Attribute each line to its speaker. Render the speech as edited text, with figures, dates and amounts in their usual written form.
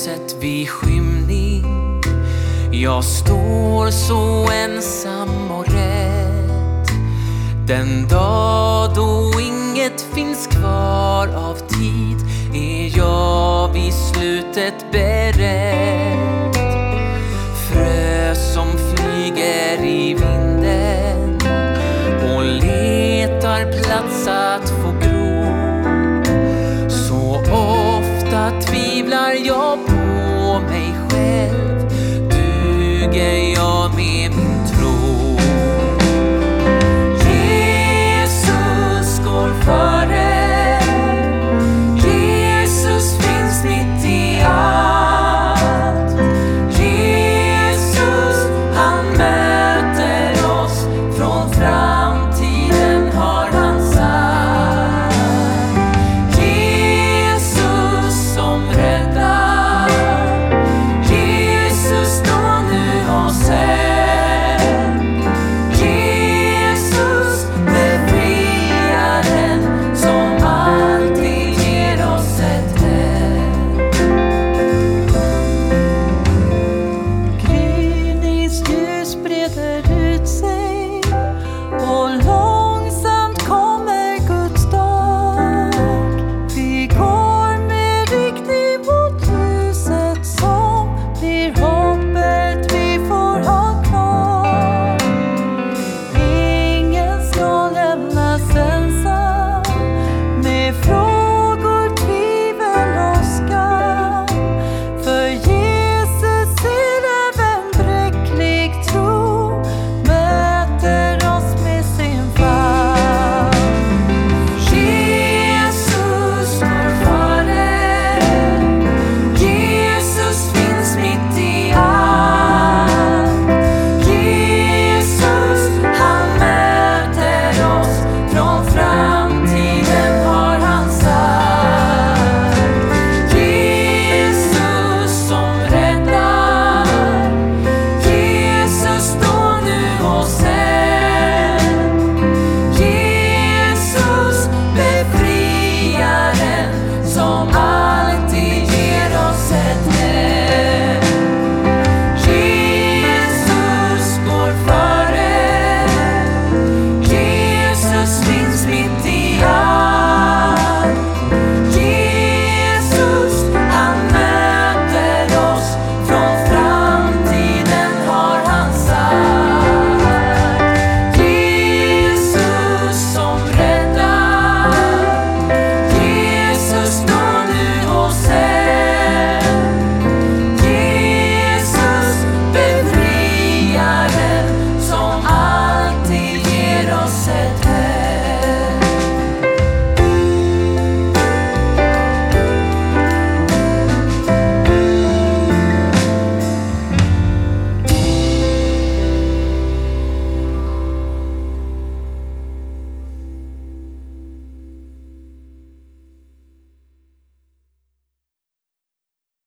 Speaker 1: ljuset vid skymning. Jag står så ensam och rädd. Den dag då inget finns kvar av tid är jag vid slutet beredd. Frö som flyger i vinden och letar plats att få gro. Så ofta tvivlar jag på mig själv. Duger